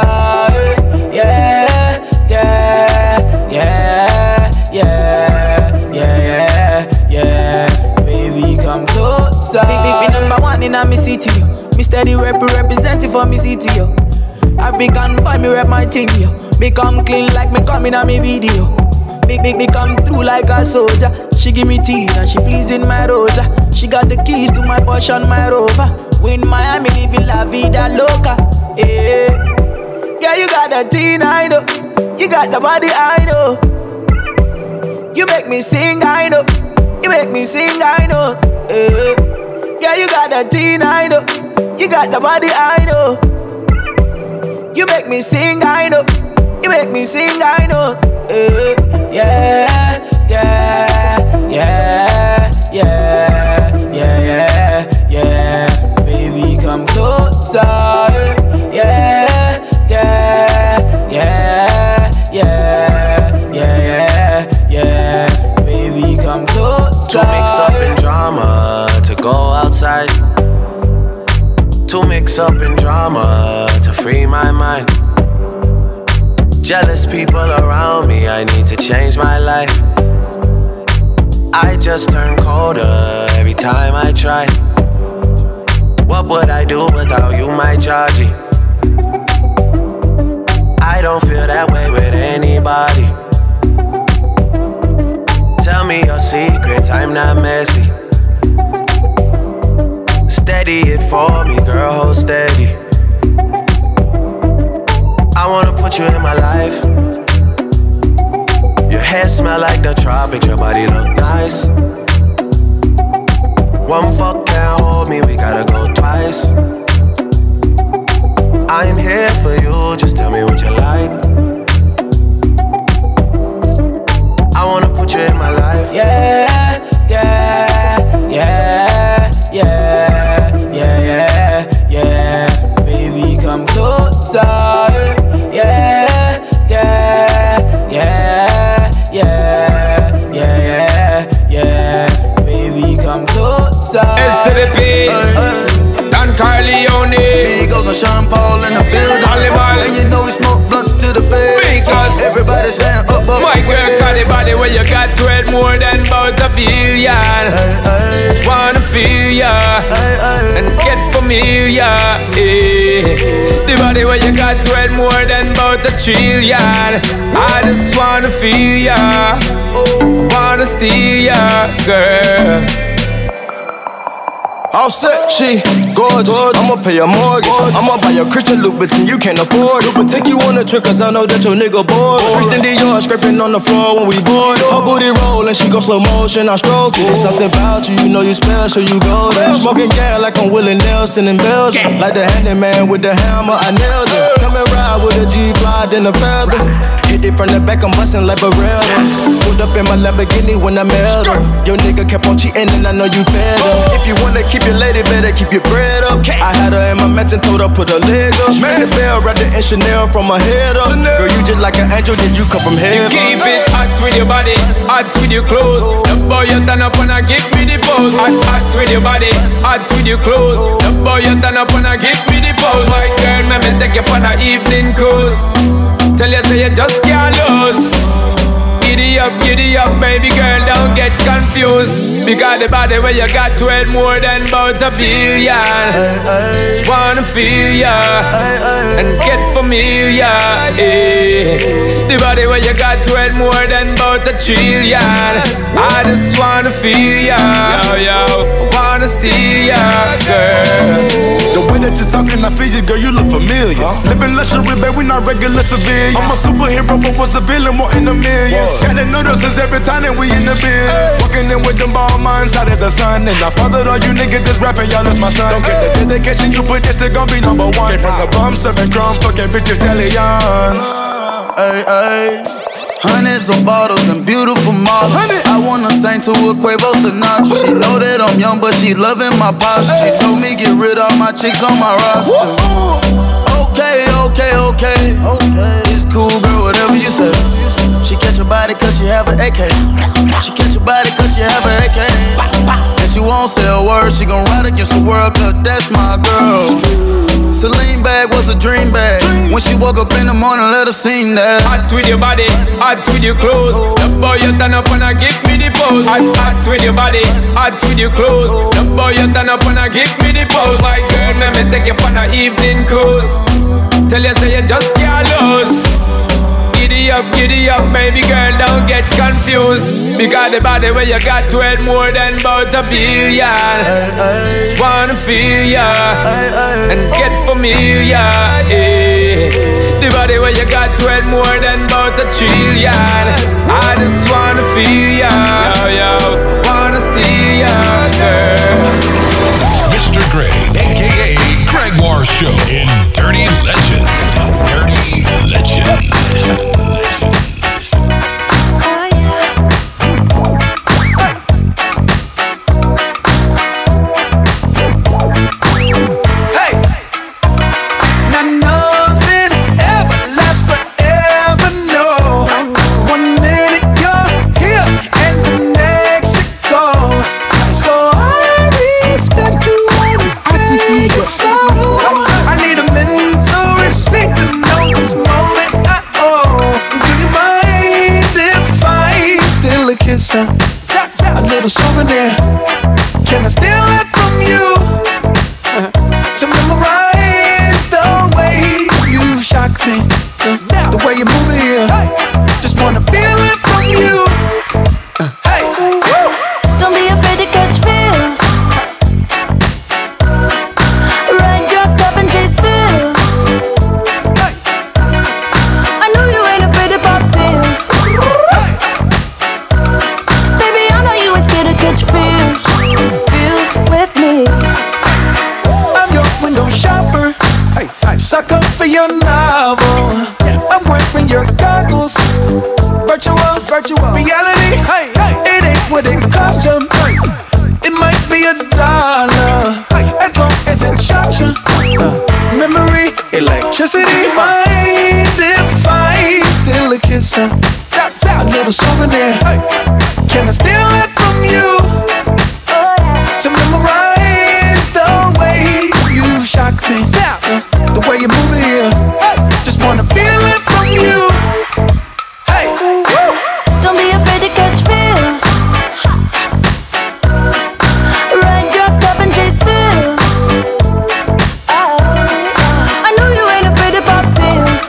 Yeah, yeah, yeah, yeah, yeah, yeah, yeah. Baby, come closer. Big, big, big number one in a me city, yo. Me steady rep representing for me city, yo. African boy, me rep my thing, yo. Me come clean like me coming on me video. Big, big, me come through like a soldier. She give me teeth and she pleasing my rosa. She got the keys to my Porsche and my Rover. We in Miami living la vida loca. Yeah, yeah, you got the teen, I know. You got the body, I know. You make me sing, I know. You make me sing, I know. Yeah, yeah, you got the teen, I know. You got the body, I know. You make me sing, I know. You make me sing, I know. Yeah, yeah, yeah, yeah, yeah, yeah, yeah. Baby, come closer. Yeah, yeah, yeah, yeah, yeah, yeah. Baby, come closer. To mix up in drama, to go outside. To mix up in drama, to free my mind. Jealous people around me, I need to change my life. I just turn colder every time I try. What would I do without you, my Georgie? I don't feel that way with anybody. Tell me your secrets, I'm not messy. Steady it for me, girl, hold steady. I wanna put you in my life. Your hair smell like the tropics, your body look nice. One fuck can't hold me, we gotta go twice. I'm here for you, just tell me what you like. I wanna put you in my life. Yeah, yeah, yeah, yeah, yeah, yeah, closer. Yeah, yeah, yeah, yeah, yeah, yeah. Baby, come closer. S to the P. Don Corleone. Migos and Sean Paul in the building. And you know we smoke blunts to the face. Because everybody saying up, up. My girl got the body where you got to it more than about a billion. Just wanna feel ya and get familiar. Eh. The body where you got to it more than about a trillion. I just wanna feel ya, wanna steal ya, girl. All set, she gorgeous. I'ma pay a mortgage. I'ma buy a Christian Louboutin, you can't afford it. But take you on a trip, cause I know that your nigga bored. Christian Dior scraping on the floor when we bored. Her booty rollin', she go slow motion, I stroke it. It's something about you, you know you special, you go there. Smoking gas like I'm Willie Nelson in Belgium. Like the handyman with the hammer, I nailed it. Come and ride with a G-Fly, then a feather. Hit it from the back, I'm bustin' like Barreras. Pulled up in my Lamborghini when I mailed her. Your nigga kept on cheating and I know you fed him. If you wanna keep your lady, better keep your bread up. I had her in my mansion, told her put her leg up. Man the bell, wrapped it in Chanel from my head up. Girl, you just like an angel, did you come from heaven? You keep it hot with your body, hot with your clothes. The boy you turn up and I give me the pose. Hot, hot with your body, hot with your clothes. The boy you turn up and I give me the pose. My girl, let me take you on an evening cruise. Tell you say you just can't lose. Giddy up, giddy up, baby girl, don't get confused. Because the body where you got to it more than about a billion. Just wanna feel ya and get familiar. Eh. The body where you got to it more than about a trillion. I just wanna feel ya, yo, yo, wanna steal ya, girl. The way that you're talking, I feel you, girl, you look familiar. Huh? Living luxury, babe, we not regular civilians. I'm a superhero, but was a villain, more in the millions. Gotta notice us every time that we in the biz. Hey. Walking in with them ball minds out of the sun. And I fathered all you niggas that's rapping, y'all is my son. Don't get the dedication you put, this they gon' be number one. Came from the bum, serving drum, fucking bitches, stallions. Hey, hey. Hundreds of bottles and beautiful models. I wanna sing to a Quavo Sinatra. She know that I'm young, but she loving my posture. She told me get rid of all my chicks on my roster. Okay, okay, okay. It's cool, girl, whatever you say. She catch your body cause she have an A K. She catch your body cause she have an A K. And she won't say a word, she gon' ride against the world cause that's my girl. Celine bag was a dream bag. When she woke up in the morning, let her sing that. Hot with your body, hot with your clothes. The boy you turn up and I give me the pose. Hot, hot with your body, hot with your clothes. The boy you turn up and I give me the pose. My girl, let me take you on an evening cruise. Tell you say you just can't lose. Giddy up, giddy up, baby girl, don't get confused. Because the body where you got to it more than about a billion. Just wanna feel ya and get familiar. Eh. The body where you got to it more than about a trillion. I just wanna feel ya, yo, yo, wanna steal ya, girl. Mister Greg, aka Gregoire Show in Dirty Legend. Dirty Legend. Legend. A little souvenir. Can I steal it from you? Uh, to memorize the way you shock me, the, the way you move it here. Just wanna feel it from you. Uh, hey, don't be afraid to catch feels. Ride your cup and chase thrills. Hey. I know you ain't afraid to pop pills. Catch feels, feels with me. I'm your window shopper, hey, hey. Sucker for your novel. I'm wearing your goggles. Virtual, virtual reality. Hey, hey. It ain't what it cost you. Hey. It might be a dollar, hey. As long as it shot you. Uh, memory, electricity. electricity. Mind if I steal a kiss? A little souvenir. Can I steal it from you? To memorize the way you shock me, the way you move it here. Just wanna feel it from you. Hey, don't be afraid to catch feels. Ride, drop, top, and chase thrills. Oh, I know you ain't afraid to pop pills.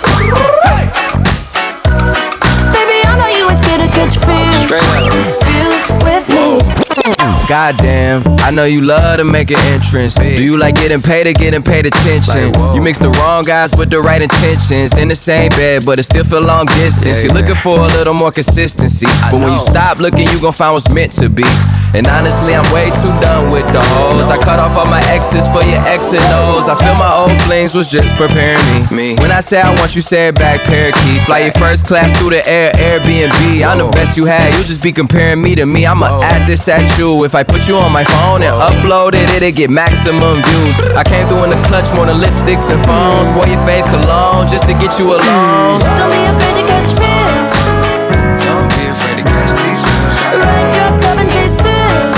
Baby, I know you ain't scared to catch feels. Feels with me. Goddamn, I know you love to make an entrance. Do you like getting paid or getting paid attention? You mix the wrong guys with the right intentions. In the same bed, but it still feel long distance. You're looking for a little more consistency, but when you stop looking, you gon' find what's meant to be. And honestly, I'm way too done with the hoes. I cut off all my exes for your X and O's. I feel my old flings was just preparing me. When I say I want you, say it back, parakeet. Fly your first class through the air, Airbnb. I'm the best you had, you just be comparing me to me. I'ma add this at you. If I put you on my phone and upload it, it'll get maximum views. I came through in the clutch more than lipsticks and phones. Wore your fave cologne just to get you alone. Don't be afraid to catch feels. Don't be afraid to catch these feels. Ride, drop, top, and chase thrills.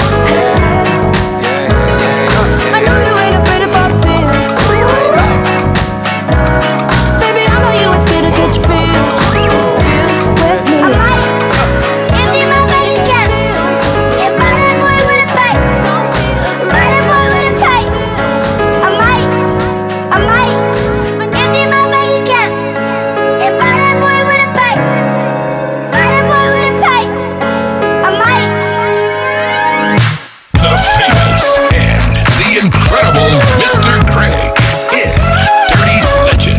I know you ain't afraid to pop pills. Baby, I know you ain't scared to catch feels. Feels with me. Empty my bank account. If I that boy with a pipe, ride that boy with a pipe. I might, I might. Empty my bank account. If I that boy with a pipe, ride that boy with a pipe. I might. The famous and the incredible Mister Greg in Dirty Legend.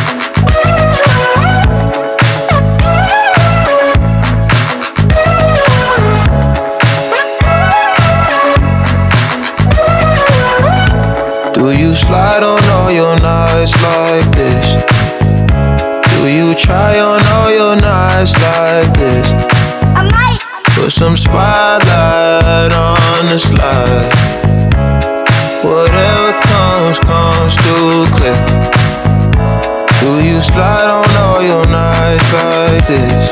Do you slide on all your nights like this? Do you try on all your nights like this? I might. Put some spotlight on the slide. Whatever comes, comes through clear. Do you slide on all your nights like this?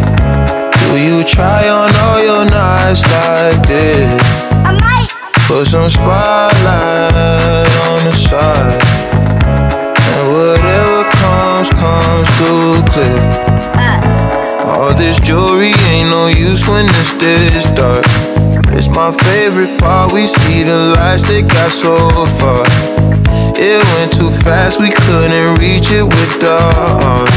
Do you try on all your nights like this? I might. Put some spotlight on the side. And whatever comes, comes through clear. All this jewelry ain't no use when it's this dark. It's my favorite part, we see the lights that got so far. It went too fast, we couldn't reach it with the arm.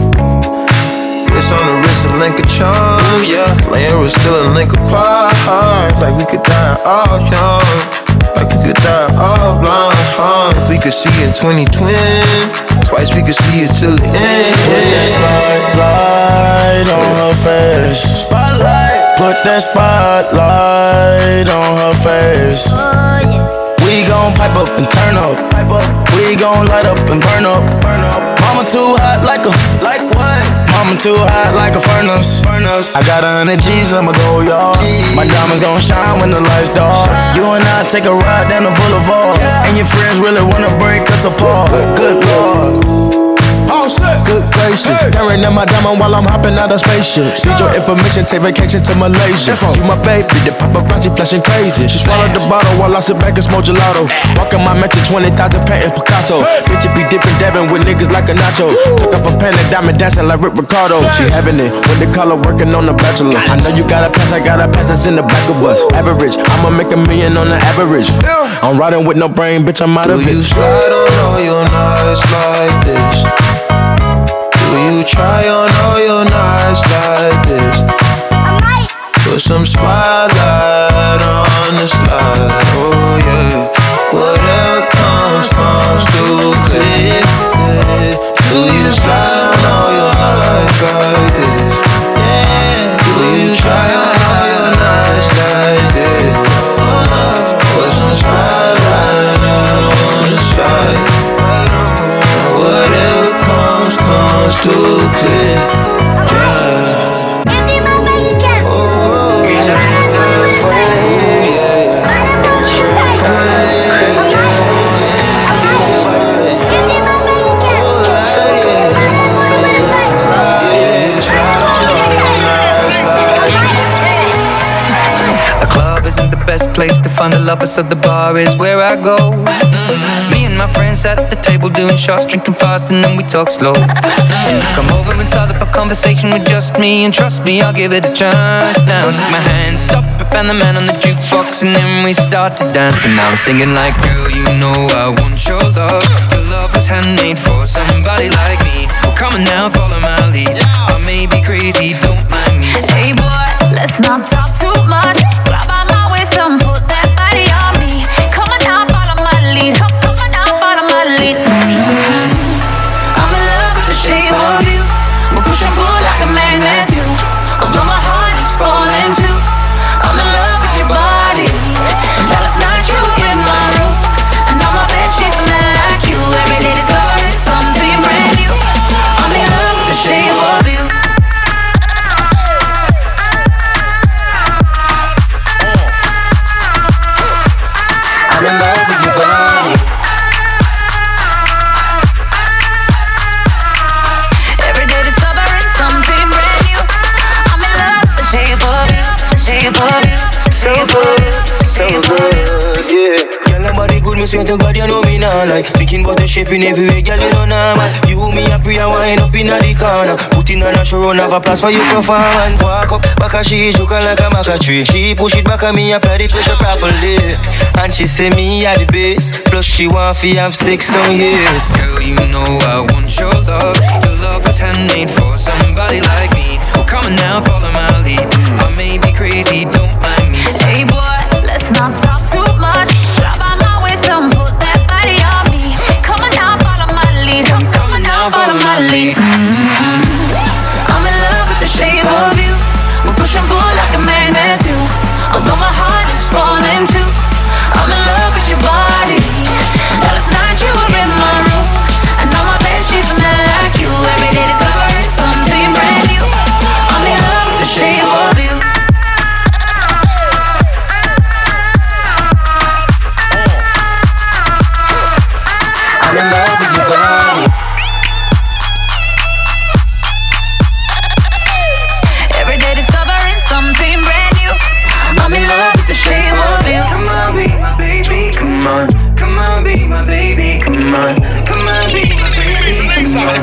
It's on the wrist, a link of charms, yeah. Laying was still a link apart. Like we could die all young, like we could die all blind, huh? If we could see in twenty twenty, twice we could see it till the end. Put that spotlight on her face. Spotlight. Put that spotlight on her face. We gon' pipe up and turn up. Pipe up. We gon' light up and burn up. Burn up. Mama too hot like a, like what? Mama too hot like a furnace. Furnace. I got a hundred G's, I'ma go yard. My diamonds gon' shine when the lights dark. You and I take a ride down the boulevard, and your friends really wanna break us apart. Good Lord. All set. Good gracious. Hey. Staring at my diamond while I'm hopping out of spaceship. Need your information, take vacation to Malaysia. You my baby, the paparazzi flashing crazy. She swallowed the bottle while I sit back and smoke gelato. Rockin' my mansion, twenty thousand patent Picasso. Bitch, it be dipping, dabbing with niggas like a nacho. Took off a pen and diamond dancing like Rick Ricardo. She having it when they call her working on the Bachelor. I know you got a pass, I got a pass that's in the back of us. Average, I'ma make a million on the average. I'm riding with no brain, bitch, I'm out of it. Do you slide on all your nights like this? Do you try on all your nights like this? I might. Put some spotlight on the slide. Oh yeah. Whatever comes, comes through clear. Do you slide on all your nights like this? Do you try on all your nights like this? Put some spotlight on the slide. Whatever comes, comes too clear. Yeah. Empty my bank account. Raise your hands up for the ladies. Ride that boy with a pipe. opposite the bar is where I go. Mm-hmm. Me and my friends sat at the table doing shots, drinking fast, and then we talk slow. And you come over and start up a conversation with just me, and trust me, I'll give it a chance. Now take my hand, stop it, and the man on the jukebox, and then we start to dance. And now I'm singing like, girl, you know I want your love. Your love was handmade for somebody like me. Well, come on now, follow my lead. I may be crazy, don't mind me. Hey boy, let's not talk too much. Grab on my waist and put that body on me. Come on now, follow my lead. Come, come on now, follow my lead. Mm-hmm. I'm in love with the shape of you. We push and pull like a magnet do. Although my heart is falling too. I'm in love with your body. Last night you were in my room, and now my bed sheets smell like you. Every day discovering something brand new. I'm in love with the shape of you. I'm in love with your body. Every day discovering something brand new. I'm in love with the shape of you, the shape of you. So good, so good, yeah. Girl, nobody good, me swear to God, you know me now. Like thinking about the shape in every way, girl, you know normal. You, me, a pray and wind up in the corner. Put in on a show, run, have a place for you performance. Walk up, back a she, joke like a maca tree. She push it back at me, apply the pressure properly. And she say me at the base. Plus she want fi have sex on years. Girl, you know I want your love. Your love was handmade for somebody like me. Well, come on now, follow my lead. I may be crazy, don't mind me. Hey boy, let's not talk too much. Grab on my waist and put that body on me. Come on now, follow my lead. Come, come on now, follow my lead. Mm-hmm. I'm in love with the shape of you. We push and pull like a magnet do. Although my heart is falling too. I'm in love with your body. Last night you were in my room, and now my bed sheets smell like you. Every day discovering something brand new. I'm in love with the shape of you. I'm in love with your body. Every day discovering something brand new. I'm in love with the shape of you. Come on, be my baby, come on. Come on, be my baby, come on. Come on, be my baby, come on.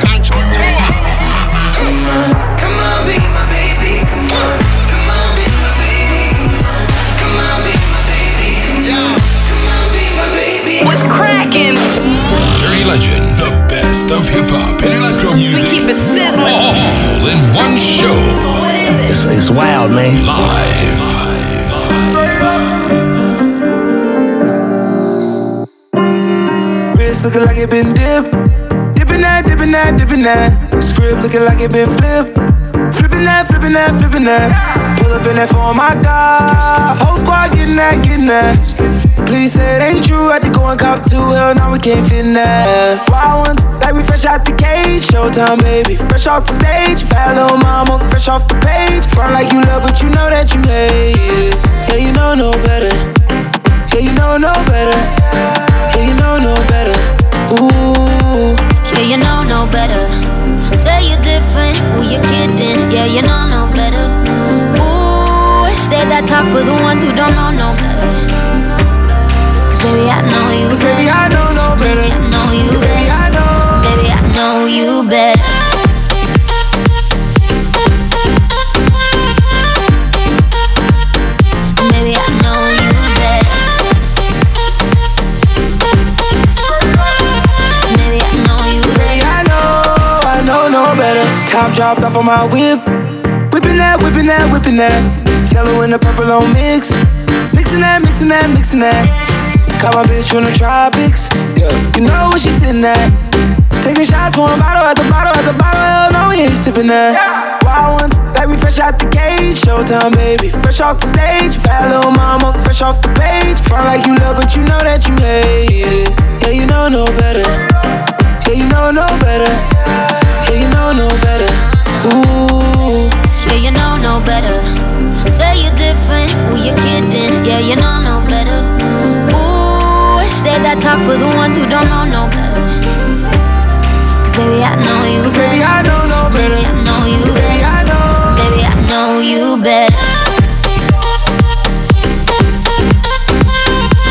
Come on, come on, be my baby, come on. Come on, be my baby, come on. Come on, be my baby, come on. Come on, be my baby. What's cracking? Dirty Legend, the best of hip hop and electro music. We keep it sizzling. All in one show. It's, it's wild, man. Live. Wrist looking like it been dipped. Dipping that, dipping that, dipping that. Script looking like it been flipped. Flipping that, flipping that, flipping that. Pull up in that phone, my God. Whole squad getting that, getting that. Please say it ain't true, had to go and cop two. Hell no, we can't fit in that. Wild ones, like we fresh out the cage. Showtime, baby, fresh off the stage. Bad little mama, fresh off the page. Front like you love, but you know that you hate it. Yeah, you know no better. Yeah, you know no better. Yeah, you know no better. Ooh. Yeah, you know no better. Say you're different, who you kidding? Yeah, you know no better. Ooh, say that talk for the ones who don't know no better. Cause baby, I know you Cause better. baby, I know no better. Baby, I know you Baby, better. I know. Baby, I know you better. Baby, I know you better. Baby, I know you better. Baby, I know, I know no better. Top dropped off on my whip. Whipping that, whipping that, whipping that. Yellow and the purple on mix. Mixing that, mixing that, mixing that. Caught my bitch from the tropics. Yeah, you know where she sitting at. Taking shots, pouring bottle at the bottle at the bottle. Hell no, we ain't sipping that. Wild ones, like we fresh out the cage. Showtime, baby, fresh off the stage. Bad little mama, fresh off the page. Front like you love, but you know that you hate it. Yeah, you know no better. Yeah, you know no better. Yeah, you know no better. Ooh. Yeah, you know no better. Say you're different, who you kidding? Yeah, you know no better. Ooh, say that talk for the ones who don't know no better. Cause baby, I know you Cause better. baby, I know no better. Baby, I know you Baby, better. I know. Baby, I know you better.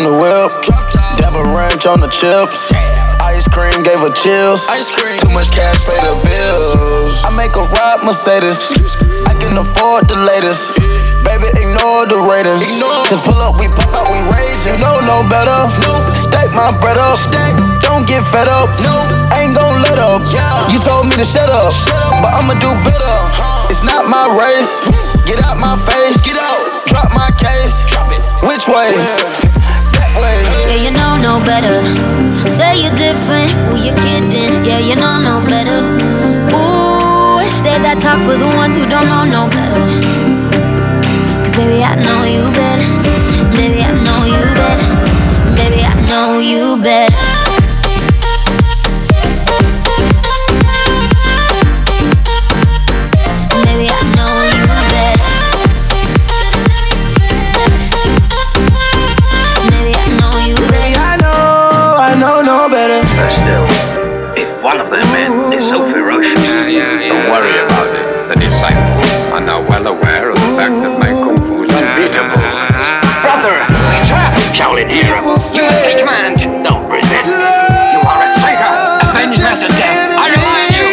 the whip. Dab a ranch on the chips. Ice cream gave her chills. Ice cream. Too much cash, pay the bills. I make a ride Mercedes. I can afford the latest. Baby, ignore the Raiders. Cause pull up, we pop out, we rage. You know no better. Stack my bread up. Don't get fed up. Ain't gon' let up. You told me to shut up, but I'ma do better. It's not my race. Get out my face. Get out. Drop my case. Drop it. Which way? That way. Yeah, you know no better. Say you're different. Who you kidding? Yeah, you know no better. Ooh, say that talk for the ones who don't know no better. Cause baby, I know you better. Baby, I know you better. Baby, I know you better. Baby, I know you better. Baby, I know you better. I know, I know no better. But still, if one of the men is so ferocious, yeah, yeah, yeah, don't worry about it. The disciples are now well aware of the fact that my kung fu is unbeatable. Brother, we trap Shaolin hero. You must take command. Don't resist. You are a traitor. Avenge Master Death. I remind you.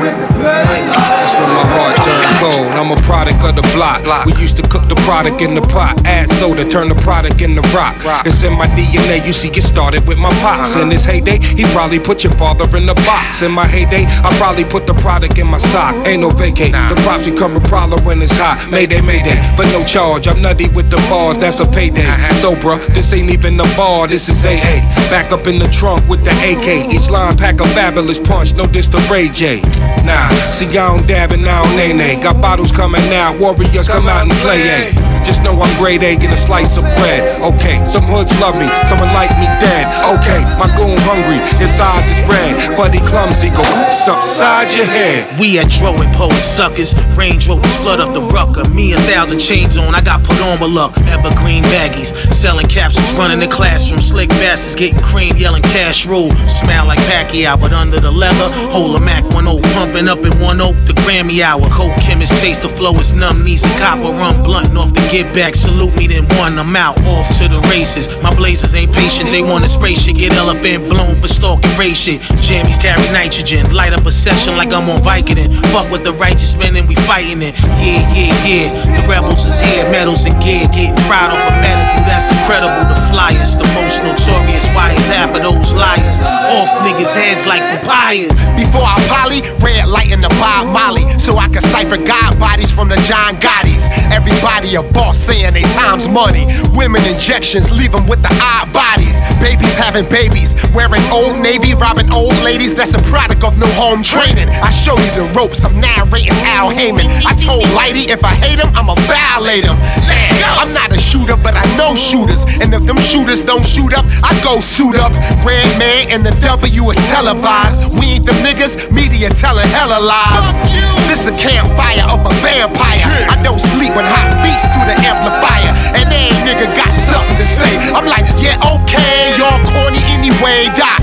That's when my heart turned cold. I'm a product of the block. We used to cook the product in the pot, add soda, turn the product into rock. It's in my D N A. You see, it started with my pops. In his heyday, he probably put your father in the box. In my heyday, I probably put the product in my sock. Ain't no vacate. The props become a problem when it's hot. Mayday, mayday, but no charge. I'm nutty with the bars. That's a payday. So, bruh, this ain't even a bar. This is A A. Back up in the trunk with the A K. Each line pack a fabulous punch. No diss to Ray J. Nah, see, I don't dab and I don't nay-nay. Got bottles coming out. Warriors come out and play, eh? Just know I'm grade A, get a slice of bread. Okay, some hoods love me, someone like me dead. Okay, my goon hungry, his eyes is red. But he clumsy, go oops upside your head. We at Dro and Poet Suckers. Range Rovers flood up the rucker. Me a thousand chains on, I got put on my luck. Evergreen baggies, selling capsules, running the classroom. Slick bastards getting cream, yelling cash rule. Smell like Pacquiao, but under the leather, hold a Mac one oh, pumping up in one oak. The Grammy hour, coke chemist taste the flow is numb. Needs a copper rum blunt off the get back. Salute me then one, I'm out off to the races. My blazers ain't patient, they want a spray shit. Get elephant blown for stalking race shit. Jammies carry nitrogen, light up a session like I'm on Vicodin. Fuck with the righteous men and we fighting it. Yeah, yeah, yeah. The rebels is here, medals and gear. Getting fried off a medical, that's incredible. The flyers, the most notorious. Why is half of those liars off niggas' heads like papayas? Before I poly, red light in the Bob Molly, so I can cipher God bodies from the John Gottis. Everybody a boss saying they time's money. Women injections leave them with the odd bodies. Babies having babies, wearing Old Navy, robbing old ladies. That's a product of no home training. I show you the ropes, I'm narrating Al Heyman. I told Lighty if I hate him, I'ma violate him. Man, I'm not a shooter, but I know shooters. And if them shooters don't shoot up, I go suit up. Red Man and the W is televised. We ain't the niggas, media telling hella lies. This a campfire of a vampire. I don't sleep with hot beats through the amplifier. And every nigga got something to say. I'm like, yeah, okay, y'all corny anyway, Doc.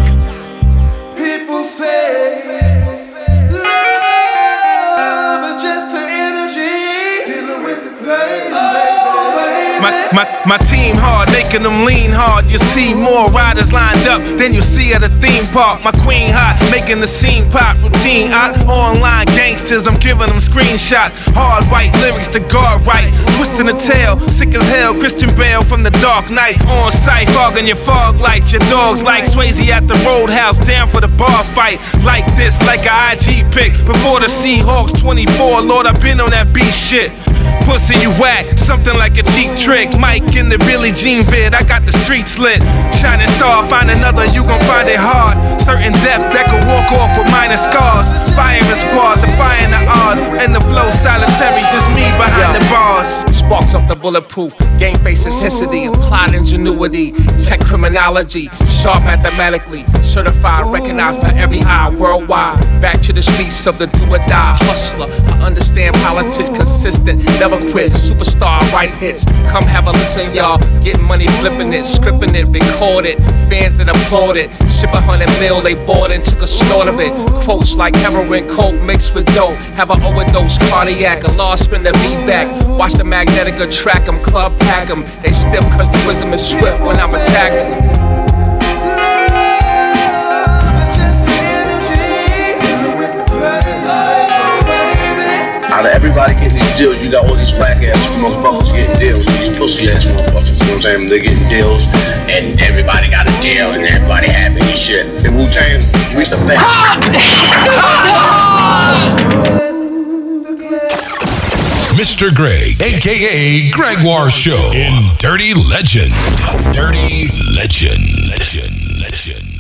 People say love is just an energy dealing with the pain. My, my, my team hard, making them lean hard. You see more riders lined up than you see at a theme park. My queen hot, making the scene pop. Routine out, online gangsters, I'm giving them screenshots. Hard white lyrics to guard right. Twisting the tail, sick as hell. Christian Bale from the Dark Knight. On sight, fogging your fog lights. Your dogs like Swayze at the Roadhouse, down for the bar fight. Like this, like a I G pic. Before the Seahawks twenty-four, Lord, I've been on that beat shit. Pussy, you whack, something like a cheap trick. Mike in the Billie Jean vid, I got the streets lit. Shining star, find another, you gon' find it hard. Certain depth that can walk off with minor scars. Firing squad, defying the odds. And the flow solitary, just me behind Yo. the bars. Sparks up the bulletproof, game face intensity, applied ingenuity, tech criminology, sharp mathematically, certified, recognized by every eye worldwide. Back to the streets of the do or die hustler. I understand politics consistent, never quit. Superstar, write hits. Come have a listen, y'all. Getting money, flipping it, scripting it, record it. Fans that applaud it. Ship a hundred mil, they bought and took a snort of it. Quotes like heroin, coke mixed with dope. Have an overdose, cardiac, a law spin the beat back. Watch the Magnetica track 'em, club pack 'em. They stiff cause the wisdom is swift when I'm attacking. Out of everybody getting these deals, you got all these black ass motherfuckers getting deals. These pussy ass motherfuckers, you know what I'm saying? They're getting deals, and everybody got a deal, and everybody happy and shit. And Wu-Tang, we the best. Mister Greg, aka Gregoire Show in Dirty Legend. Dirty Legend. Legend. Legend.